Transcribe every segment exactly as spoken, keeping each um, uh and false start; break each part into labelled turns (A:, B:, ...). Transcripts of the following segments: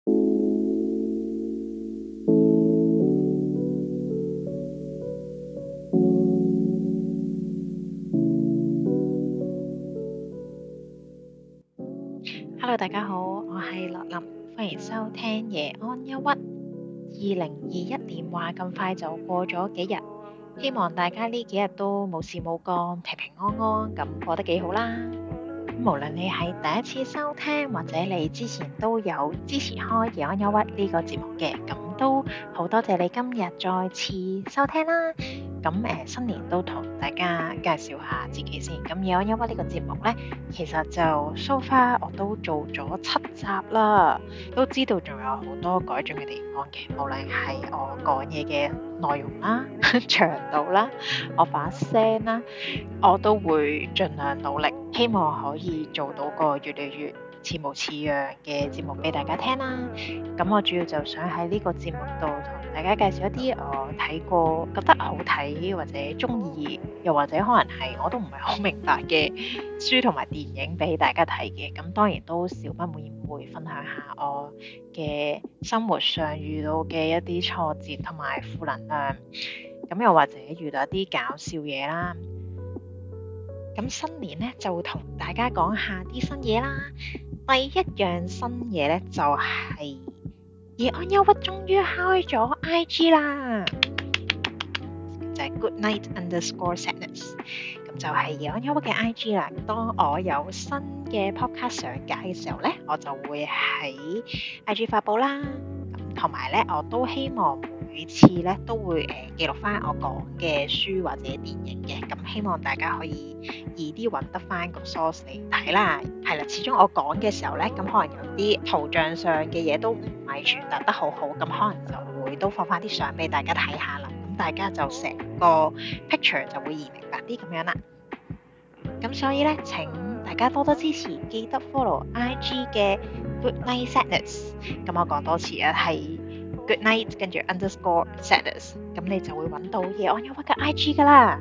A: Hello，大家好，我係樂林，歡迎收聽夜安憂鬱。二零二一年話咁快就過咗幾日，希望大家呢幾日都冇事冇幹，平平安安咁過得幾好啦。無論你係第一次收聽，或者你之前都有支持開夜安憂鬱呢個節目嘅，咁都好多謝你今日再次收聽啦。咁誒、呃、新年都同大家介紹下自己先。咁夜安憂鬱呢個節目呢，其實就 so far 我都做咗七集啦，都知道仲有好多改進嘅地方嘅，無論係我講嘢嘅內容啦、長度啦、我把聲啦，我都會盡量努力，希望可以做到個越嚟越似模似樣嘅節目俾大家聽啦。咁我主要就想喺呢個節目度同大家介紹一啲我睇過覺得好睇或者中意，又或者可能係我都唔係好明白嘅書同埋電影俾大家睇嘅。咁當然都少不免會分享下我嘅生活上遇到嘅一啲挫折同埋負能量，咁又或者遇到一啲搞笑嘢啦。咁新年咧就會同大家講下啲新嘢啦。第一樣新嘢咧就係夜安憂鬱終於開咗 I G 啦，就係 Good Night Underscore Sadness， 咁就係夜安憂鬱嘅 I G 啦。當我有新嘅 podcast 上架嘅時候咧，我就會喺 I G 發布啦。咁同埋咧，我都希望每次咧都會誒、呃、記錄翻我講嘅書或者電影嘅，咁希望大家可以易啲揾得翻個 source 嚟睇啦。係啦，始終我講嘅時候咧，咁可能有啲圖像上嘅嘢都唔係傳達得好好，咁可能就會都放翻啲相俾大家睇下啦。咁大家就成個 picture 就會易明白啲咁樣啦。咁所以咧，請大家多多支持，記得 follow I G 嘅 Good Night Sadness。咁我講多次啊，係 Good Night 跟住 Underscore Sadness， 咁你就會揾到夜安憂鬱嘅 I G 噶啦。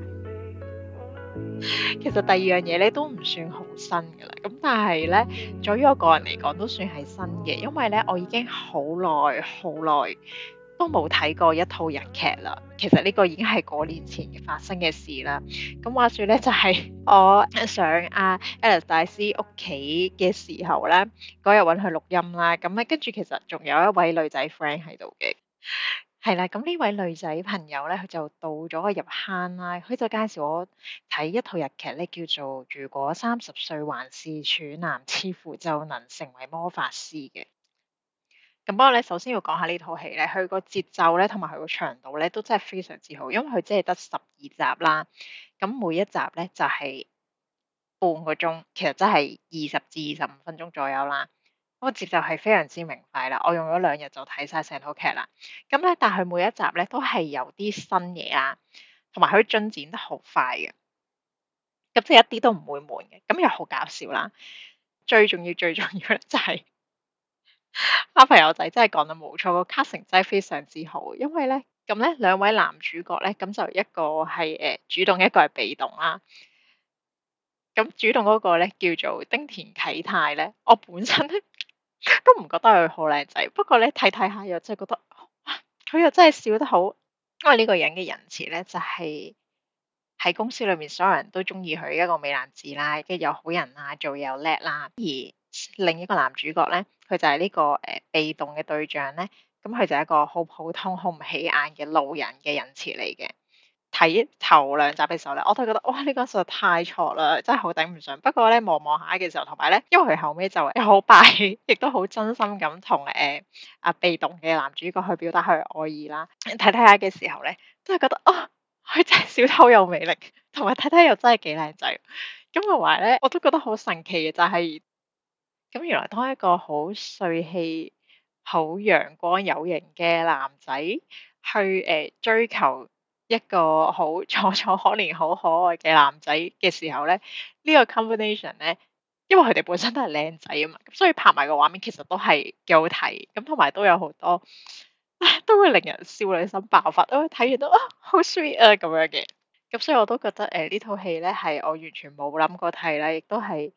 A: 其實第二樣嘢咧都唔算好新噶啦，咁但係咧，對於我個人嚟講都算係新嘅，因為咧我已經好耐好耐都冇睇過一套日劇啦。其實呢個已經係過年前發生嘅事啦。咁話說咧，就係、是、我上阿 Alice 大師屋企嘅時候咧，嗰日揾佢錄音啦。咁咧跟住其實仲有一位女仔 friend 喺度嘅。係啦，咁呢位女仔朋友咧，佢就到咗個入坑啦。佢就介紹我睇一套日劇咧，叫做《如果三十歲還是處男，似乎就能成為魔法師》嘅。咁不過咧，首先要講下呢套戲咧，佢個節奏咧同埋佢個長度咧都真係非常之好，因為佢只係得十二集啦。咁每一集咧就係半個鐘，其實真係二十至二十五分鐘左右啦。嗰個節奏係非常之明快啦，我用咗兩日就睇晒成套劇啦。咁咧，但係每一集咧都係有啲新嘢啦，同埋佢進展得好快嘅，咁即係一啲都唔會悶嘅，咁又好搞笑啦。最重要最重要咧就係阿朋友仔真係講得冇錯，個 casting 真係非常之好，因為咧咁咧兩位男主角咧，咁就一個係誒、呃、主動，一個係被動啦。咁主動嗰個咧叫做丁田啟泰咧，我本身咧都唔覺得佢好靚仔，不過咧睇睇下又真係覺得，哇！佢又真係笑得好，因為呢個人嘅人設咧就係、是、喺公司裏面所有人都中意佢一個美男子啦，跟住又好人啦，做嘢又叻啦。而另一個男主角咧，佢就係呢、這個誒、呃、被動嘅對象咧，咁佢就係一個好普通、好唔起眼嘅路人嘅人設嚟嘅。睇頭兩集嘅時候咧，我都覺得哇，呢、這個實在太錯啦，真係好頂唔順。不過咧望望下嘅時候，同埋咧，因為佢後尾就誒好霸氣，亦都好真心咁同誒阿被動嘅男主角去表達佢愛意啦。睇睇下嘅時候咧，都係覺得哦，佢真係笑得好有魅力，同埋睇睇又真係幾靚仔。咁同埋咧，我都覺得好神奇嘅就係、是，咁原來當一個好帥氣、好陽光有型嘅男仔去誒、呃、追求一個好楚楚可憐、好可愛嘅男仔嘅時候咧，呢、這個 combination 咧，因為佢哋本身都係靚仔啊嘛，咁所以拍埋個畫面其實都係幾好睇，咁同埋都有好多都會令人少女心爆發，都睇完都啊好 sweet 啊咁樣嘅，咁所以我都覺得誒呢套戲咧係我完全冇諗過睇啦，亦都係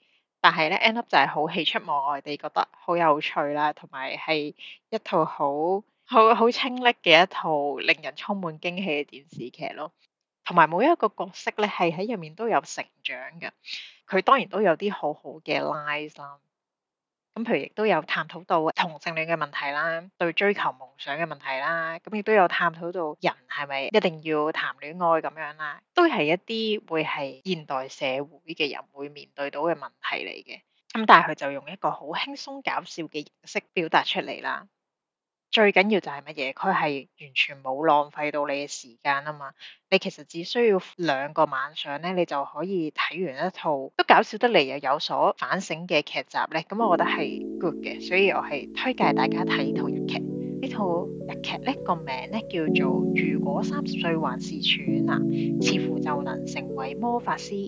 A: 但係咧 end up 就係好喜出望外地覺得好有趣啦，同埋係一套好好好清瀝嘅一套令人充滿驚喜嘅電視劇咯。同埋每一個角色咧係喺入面都有成長嘅，佢當然都有啲好好嘅 lines 啦。咁譬如亦都有探討到同性戀嘅問題啦，對追求夢想嘅問題啦，咁亦都有探討到人係咪一定要談戀愛咁樣啦，都係一啲會係現代社會嘅人會面對到嘅問題嚟嘅。咁但係佢就用一個好輕鬆搞笑嘅形式表達出嚟啦。最緊要就係乜嘢？佢係完全冇浪費到你嘅時間啊嘛！你其實只需要兩個晚上咧，你就可以睇完一套都搞笑得嚟又有所反省嘅劇集咧。咁我覺得係 good 嘅，所以我係推介大家睇呢套日劇。呢套日劇咧個名咧叫做《如果三十歲還是處男，似乎就能成為魔法師》。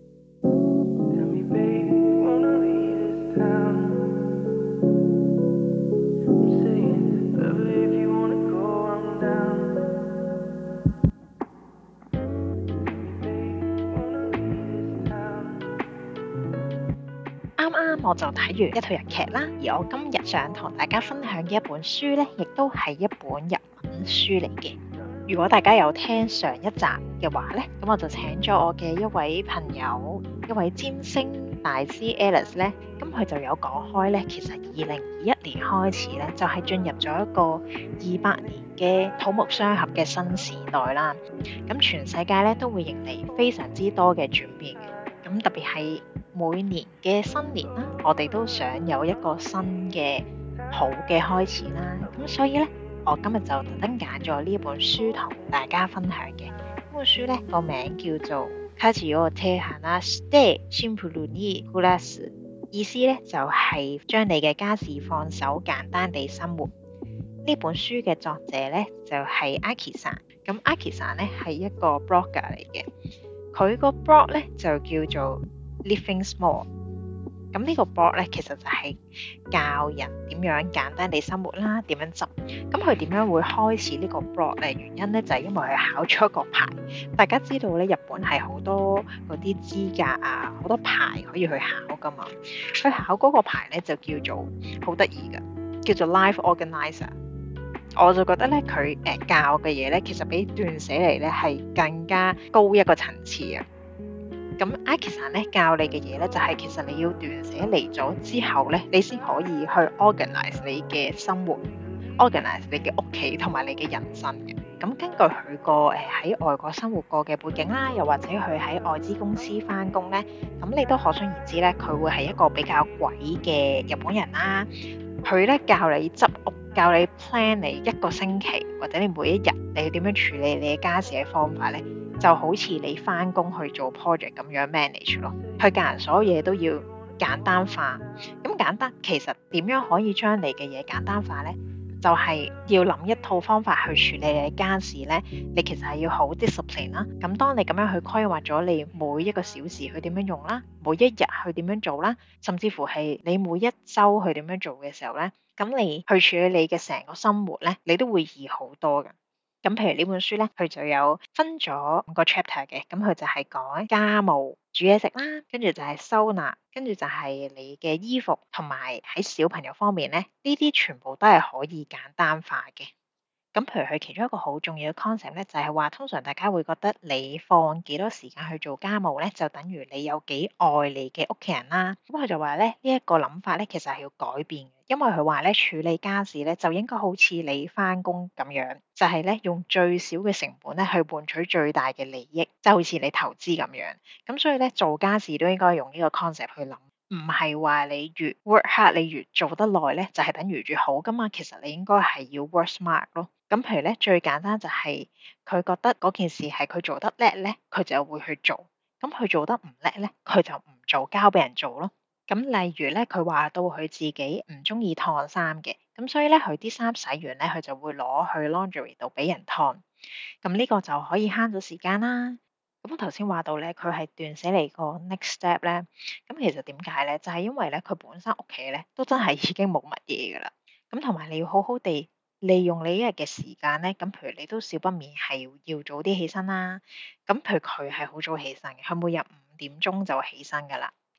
A: 啱啱我就睇完一套日劇啦，而我今日想同大家分享嘅一本書呢，亦都係一本日文書嚟嘅。如果大家有聽上一集嘅話呢，咁我就請咗我嘅一位朋友，一位占星大師 Alice 呢，咁佢就有講開呢，其實二零二一年開始呢，就係進入咗一個二百年嘅土木相合嘅新時代啦。咁全世界呢，都會迎嚟非常之多嘅轉變嘅，咁特別係每年嘅新年啦，我哋都想有一個新嘅好嘅開始啦。咁所以呢，我今日就特登揀咗呢一本書同大家分享嘅。呢本書呢個名叫做《家事を手放してシンプルに暮らす》，意思呢就係、是、將你嘅家事放手，簡單地生活。呢本書嘅作者呢就係、是、Aki さん，咁 Aki さん呢係一個 blogger 嚟嘅，佢個 blog 呢就叫做Living Small， 咁呢個 blog 咧，其實就係教人點樣簡單地生活啦，點樣執。咁佢點樣會開始呢個 blog 咧？原因咧就係、是、因為佢考咗一個牌。大家知道咧，日本係好多嗰啲資格啊，好多牌可以去考噶嘛。佢考嗰個牌咧就叫做好得意嘅，叫做 Life Organizer。我就覺得咧，佢誒教嘅嘢咧，其實比斷捨離咧係更加高一個層次啊。咁 Aki さん咧教你嘅嘢咧，就係、是、其實你要斷捨離咗之後咧，你先可以去 organize 你嘅生活 ，organize 你嘅屋企同埋你嘅人生嘅。咁根據佢個誒喺外國生活過嘅背景啦，又或者佢喺外資公司返工咧，咁你都可想而知咧，佢會係一個比較鬼嘅日本人啦。佢咧教你執屋，教你 plan 你一個星期或者你每一日你要點樣處理你嘅家事嘅方法咧。就好似你返工去做 project 咁樣 manage 咯，佢教人所有嘢都要簡單化。咁簡單其實點樣可以將你嘅嘢簡單化呢？就係、是、要諗一套方法去處理你嘅家事呢。你其實係要好 discipline 啦。咁當你咁樣去規劃咗你每一個小時去點樣用啦，每一日去點樣做啦，甚至乎係你每一週去點樣做嘅時候呢，咁你去處理你嘅成個生活呢，你都會易好多嘅。咁譬如呢本書咧，佢就有分咗五個 chapter 嘅，咁佢就係講家務、煮嘢食啦，跟住就係收納，跟住就係你嘅衣服，同埋喺小朋友方面咧，呢啲全部都係可以簡單化嘅。咁譬如佢其中一個好重要嘅 concept 咧，就係話通常大家會覺得你放幾多時間去做家務咧，就等於你有幾愛你嘅屋企人啦。咁佢就話咧，呢一個諗法咧，其實係要改變嘅，因為佢話咧，處理家事咧就應該好似你返工咁樣，就係咧用最少嘅成本咧去換取最大嘅利益，就好似你投資咁樣。咁所以咧做家事都應該用呢個 concept 去諗，唔係話你越 work hard 你越做得耐咧，就係等於越好噶嘛。其實你應該係要 work smart 咯。咁譬如咧，最簡單就係佢覺得嗰件事係佢做得叻咧，佢就會去做。咁佢做得唔叻咧，佢就唔做，交俾人做咯。咁例如咧，佢話到佢自己唔中意燙衫嘅，咁所以咧佢啲衫洗完咧，佢就會攞去 laundry 度俾人燙。咁呢個就可以慳咗時間啦。咁我頭先話到咧，佢係斷捨離個 next step 咧。咁其實點解咧？就係因為咧，佢本身屋企咧都真係已經冇乜嘢噶啦。咁同埋你要好好地利用你一日嘅時間咧，咁譬如你都少不免係要早啲起身啦。咁譬如佢係好早起身嘅，佢每日五點鐘就起身噶啦。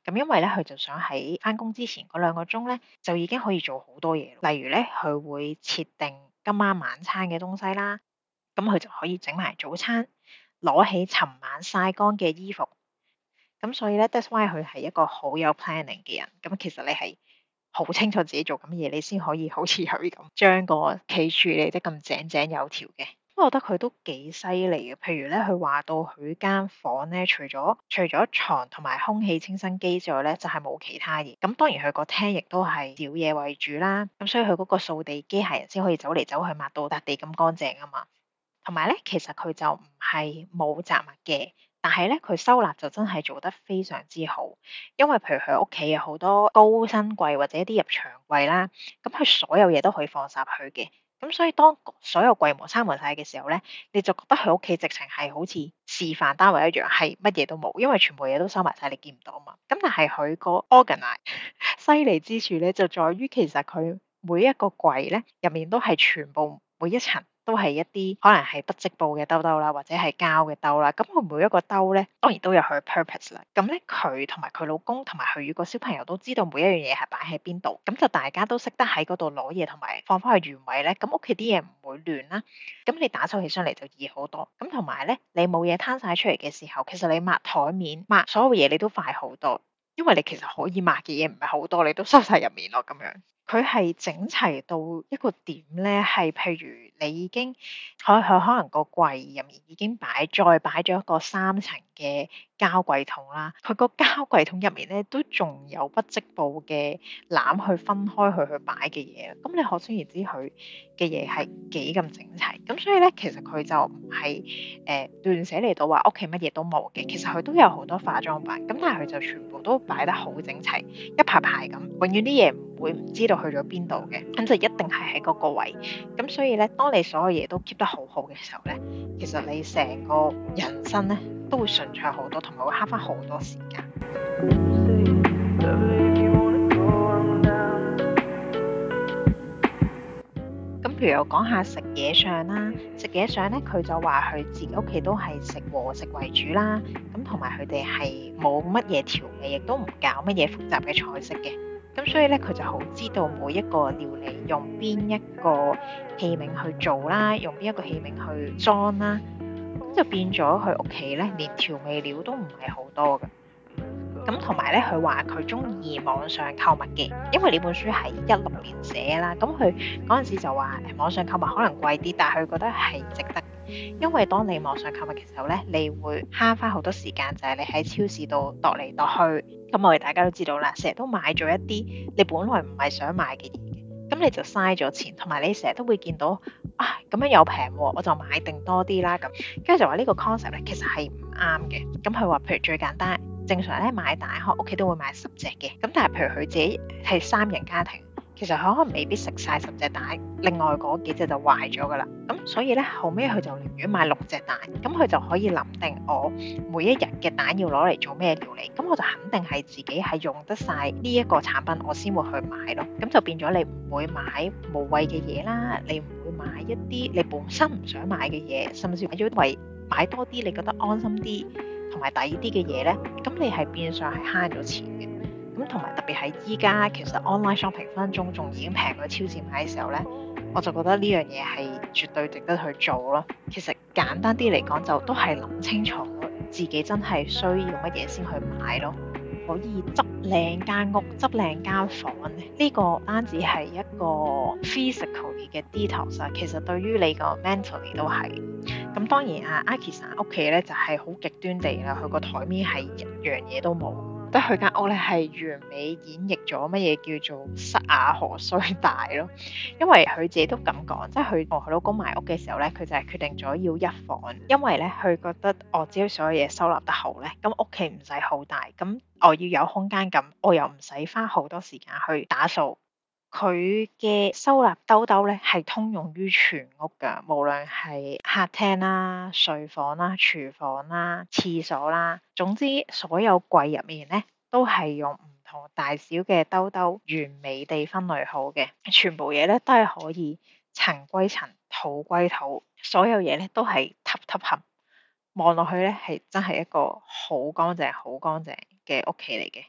A: 咁因為咧，佢就想喺翻工之前嗰兩個鐘咧，就已經可以做好多嘢。例如咧，佢會設定今晚晚餐嘅東西啦，咁佢就可以整埋早餐，攞起尋晚曬乾嘅衣服。咁所以咧，that's why 佢係一個好有 planning 嘅人。咁其實你係好清楚自己做緊嘢，你先可以好似佢咁將個企處理得咁井井有條嘅。我覺得佢都幾犀利嘅。譬如咧，佢話到佢間房咧，除咗除咗床同埋空氣清新機之外咧，就係冇其他嘢。咁當然佢個廳亦都係小嘢為主啦。咁所以佢嗰個掃地機械人先可以走嚟走去抹到笪地咁乾淨啊嘛。同埋咧，其實佢就唔係冇雜物嘅。但係咧，佢收納就真係做得非常之好，因為譬如佢屋企有好多高身櫃或者一啲入牆櫃啦，咁佢所有嘢都可以放晒去嘅，咁所以當所有櫃門閂埋晒嘅時候咧，你就覺得佢屋企直情係好似示範單位一樣，係乜嘢都冇，因為全部嘢都收埋晒，你見唔到嘛。咁但係佢個 organize 犀利之處咧，就在於其實佢每一個櫃咧入面都係全部每一層。都係一啲可能係不織布嘅兜兜啦，或者係膠嘅兜啦。咁佢每一個兜咧，當然都有佢嘅 purpose 啦。咁咧，佢同埋佢老公同埋佢個小朋友都知道每一樣嘢係擺喺邊度，咁就大家都識得喺嗰度攞嘢同埋放翻去原位咧。咁屋企啲嘢唔會亂啦。咁你打掃起上嚟就易好多。咁同埋咧，你冇嘢攤晒出嚟嘅時候，其實你抹台面、抹所有嘢你都快好多，因為你其實可以抹嘅嘢唔係好多，你都收晒入面咯咁樣。佢係整齊到一個點咧，係譬如你已經佢佢可能個櫃入面已經擺再擺咗一個三層嘅膠櫃桶啦，佢個膠櫃桶入面咧都仲有不織布嘅籃去分開佢去擺嘅嘢，咁你可想而知佢嘅嘢係幾咁整齊。咁所以咧，其實佢就唔係誒亂寫嚟到話屋企乜嘢都冇嘅，其實佢都有好多化妝品，咁但係佢就全部都擺得好整齊，一排排咁，永遠啲嘢唔會唔知道去咗邊度嘅，咁就一定係喺嗰個位。咁所以咧，當你所有嘢都 keep 得好好嘅時候咧，其實你成個人生咧都會順暢好多，同埋會慳翻好多時間。咁譬如我講下食嘢上啦，食嘢上咧，佢就話佢自己屋企都係食和食為主啦，咁同埋佢哋係冇乜嘢調味，亦都唔搞乜嘢複雜嘅菜式嘅。咁所以咧，佢就好知道每一個料理用邊一個器皿去做啦，用邊一個器皿去裝啦，咁就變咗佢屋企咧，連調味料都唔係好多嘅。咁同埋咧，佢話佢中意網上購物嘅，因為呢本書係一六年寫啦。咁佢嗰陣時就話誒網上購物可能貴啲，但係佢覺得係值得，因為當你網上購物嘅時候咧，你會慳翻好多時間，就係你喺超市度度嚟度去。咁我哋大家都知道啦，成日都買咗一啲你本來唔係想買嘅嘢嘅，咁你就嘥咗錢，同埋你成日都會見到啊咁樣又平喎，我就買定多啲啦咁。跟住就話呢個 concept 咧，其實係唔啱嘅。咁佢話譬如最簡單。正常咧買蛋，可屋企都會買十隻嘅。咁但係譬如佢自己係三人家庭，其實佢可能未必食晒十隻蛋，另外嗰幾隻就壞咗噶啦。咁所以咧後尾佢就寧願買六隻蛋，咁佢就可以諗定我每一日嘅蛋要攞嚟做咩料理。咁我就肯定係自己係用得晒呢一個產品，我先會去買咯。咁就變咗你唔會買無謂嘅嘢啦，你唔會買一啲你本身唔想買嘅嘢，甚至買咗為買多啲你覺得安心啲同埋抵啲嘅嘢咧，咁你係變相係慳咗錢嘅。咁同埋特別係依家其實 online shopping 分分鐘仲已經平過超市買嘅時候咧，我就覺得呢樣嘢係絕對值得去做咯。其實簡單啲嚟講，就都係諗清楚自己真係需要乜嘢先去買咯。可以執靚間屋、執靚間房咧，呢個單止係一個 physically 嘅 detox，其實對於你個 mentally 都係。咁當然啊，Aki san屋企咧就係好極端地啦，佢個台面係一樣嘢都冇，得佢間屋咧係完美演繹咗乜嘢叫做失雅何須大咯。因為佢自己都咁講，即係佢同佢老公買屋嘅時候咧，佢就係決定咗要一房，因為咧佢覺得我只要所有嘢收納得好咧，咁屋企唔使好大，咁我要有空間感，我又唔使花好多時間去打掃。佢嘅收納兜兜咧係通用於全屋㗎，無論係客廳啦、睡房啦、廚房啦、廁所啦，總之所有櫃入面咧都係用唔同大小嘅兜兜完美地分類好嘅，全部嘢咧都係可以塵歸塵、土歸土，所有嘢咧都係揼揼冚，望落去咧係真係一個好乾淨、好乾淨嘅屋企嚟嘅。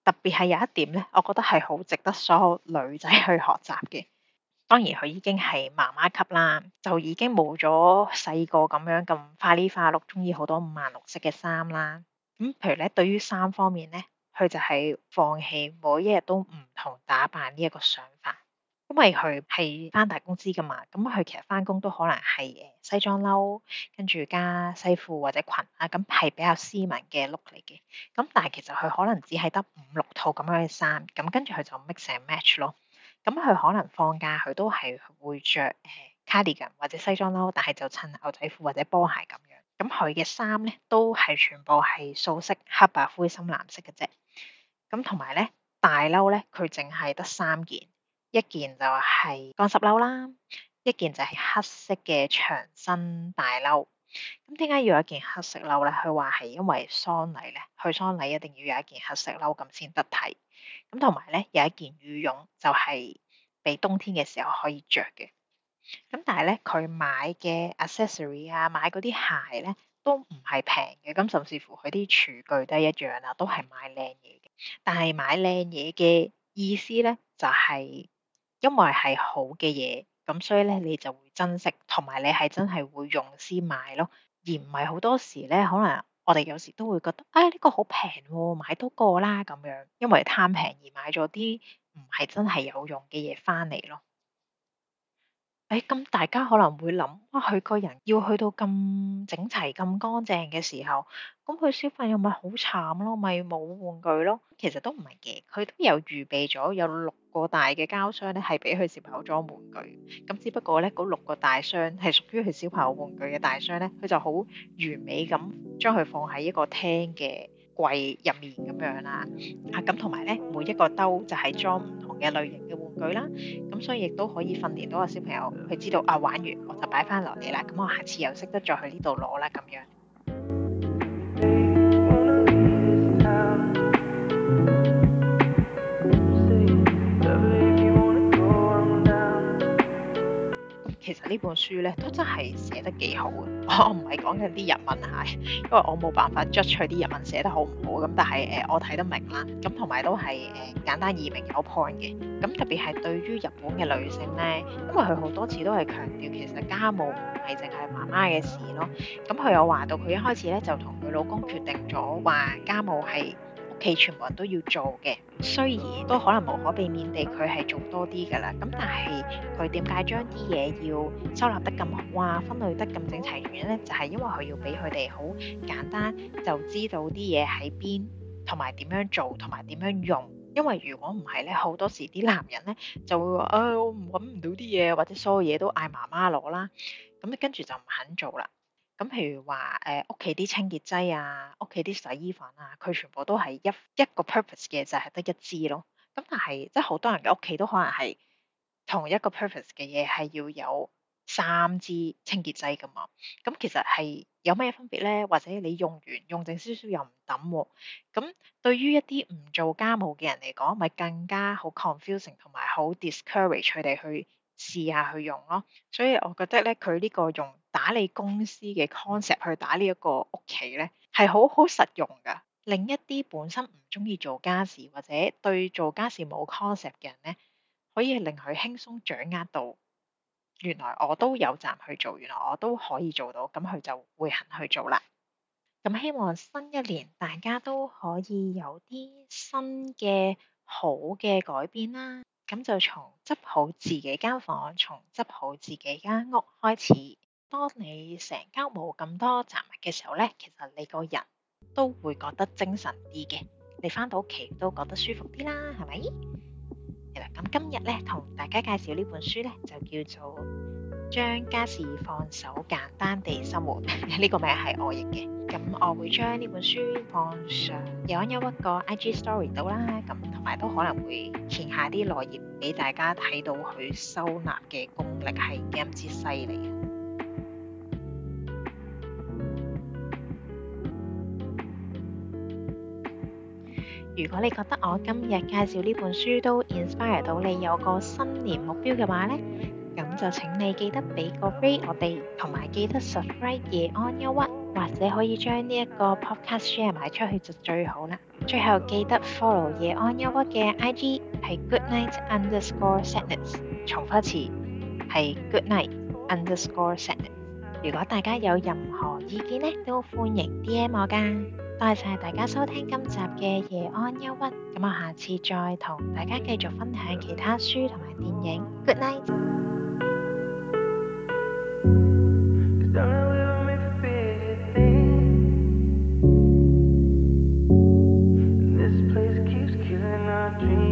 A: 特別係有一點咧，我覺得係好值得所有女仔去學習嘅。當然佢已經係媽媽級啦，就已經冇咗細個咁樣咁花里花碌，中意好多五顏六色嘅衫啦。咁譬如咧，對於衫方面咧，佢就係放棄每一日都唔同打扮呢一個想法。因為佢係返大公司噶嘛，咁佢其實返工都可能係誒西裝褸，跟住加西褲或者裙啊，咁係比較斯文嘅 look 嚟嘅。咁但係其實佢可能只係得五六套咁樣嘅衫，咁跟住佢就 mix and match 咯。咁佢可能放假佢都係會着誒 cardigan 或者西裝褸，但係就襯牛仔褲或者波鞋咁樣。咁佢嘅衫咧都係全部係素色，黑白灰深藍色嘅啫。咁同埋咧大褸咧，佢淨係得三件。一件就係乾濕褸啦，一件就係黑色嘅長身大褸。咁點解要有一件黑色褸咧？佢話係因為喪禮咧，去喪禮一定要有一件黑色褸咁先得體。咁同埋咧有一件羽絨就係俾冬天嘅時候可以着嘅。咁但係咧佢買嘅 accessory 啊，買嗰啲鞋咧都唔係平嘅，咁甚至乎佢啲廚具都係一樣啦，都係買靚嘢嘅。但係買靚嘢嘅意思咧就係、是。因為係好嘅嘢，咁所以咧你就會珍惜，同埋你係真係會用先買咯，而唔係好多時咧，可能我哋有時都會覺得，啊呢個好平喎，買多個啦咁樣，因為貪平而買咗啲唔係真係有用嘅嘢翻嚟咯。誒，咁大家可能會諗，哇，佢個人要去到咁整齊、咁乾淨嘅時候，咁佢小朋友咪好慘咯，咪冇玩具咯。其實都唔係嘅，佢都有預備咗有六個大嘅膠箱咧，係俾佢小朋友裝玩具。咁只不過咧，嗰六個大箱係屬於佢小朋友玩具嘅大箱咧，佢就好完美咁將佢放喺一個廳嘅櫃入面咁樣啦。啊，咁同埋咧，每一個兜就係裝唔同嘅類型嘅玩具啦。咁所以亦都可以訓練到個小朋友，佢知道啊，玩完我就擺翻落嚟啦。咁我下次又識得再去呢度攞啦咁樣。其實呢本書咧都真係寫得幾好嘅，我唔係講緊啲日文嚇，因為我冇辦法 judge 佢啲日文寫得好唔好咁，但係誒、呃、我睇得明啦，咁同埋都係誒、呃、簡單易明有 point 嘅，咁特別係對於日本嘅女性咧，因為佢好多次都係強調其實家務唔係淨係媽媽嘅事咯，咁佢有話到佢一開始咧就同佢老公決定咗話家務係屋企全部人都要做嘅，雖然都可能無可避免地佢係做多啲㗎啦，咁但係佢點解將啲嘢要收納得咁好啊，分類得咁整齊原因咧，就係、是、因為佢要俾佢哋好簡單就知道啲嘢喺邊，同埋點樣做，同埋點樣用。因為如果唔係咧，好多時啲男人咧就會話，誒、哎、我唔揾唔到啲嘢，或者所有嘢都嗌媽媽攞啦，咁跟住就唔肯做啦。咁譬如話誒屋企啲清潔劑啊，屋企啲洗衣粉啊，佢全部都係一一個 purpose 嘅，就係得一支咯。咁但係即係好多人嘅屋企都可能係同一個 purpose 嘅嘢係要有三支清潔劑噶嘛。咁其實係有咩分別咧？或者你用完用剩少少又唔抌喎。咁對於一啲唔做家務嘅人嚟講，咪更加好 confusing 同埋好 discourage 佢哋去試下去用咯。所以我覺得咧，佢呢個用打理公司嘅 concept 去打呢一個屋企咧，係好好實用噶。另一啲本身唔中意做家事或者對做家事冇 concept 嘅人咧，可以令佢輕鬆掌握到，原來我都有站去做，原來我都可以做到，咁佢就會肯去做啦。咁希望新一年大家都可以有啲新嘅好嘅改變啦。咁就從執好自己間房，從執好自己間屋開始。當你成間冇咁多雜物嘅時候咧，其實你個人都會覺得精神啲嘅，你返到屋企都覺得舒服啲啦，係咪？係啦，咁今日咧同大家介紹呢本書咧，就叫做將家事放手，簡單地生活。呢個名係我譯嘅，咁我會將呢本書放上有有一個 I G story 度啦，咁同埋都可能會填下啲內頁俾大家睇到佢收納嘅功力係幾咁之犀利。如果你覺得我今日介紹呢本書都 inspire 到你有個新年目標嘅話呢，咁就請你記得俾個 rate 我哋，同埋記得 subscribe 夜安憂鬱，或者可以將呢一個 podcast share 埋出去就最好啦。 最後記得 follow 夜安憂鬱嘅 I G 係 goodnight underscore sadness，重複一次係 goodnight underscore sadness。如果大家有任何意見呢，都歡迎 D M 我噶。多謝晒大家收聽今集嘅夜安憂鬱，咁我下次再同大家繼續分享其他書同埋電影。Good night。
B: This place keeps killing our dreams.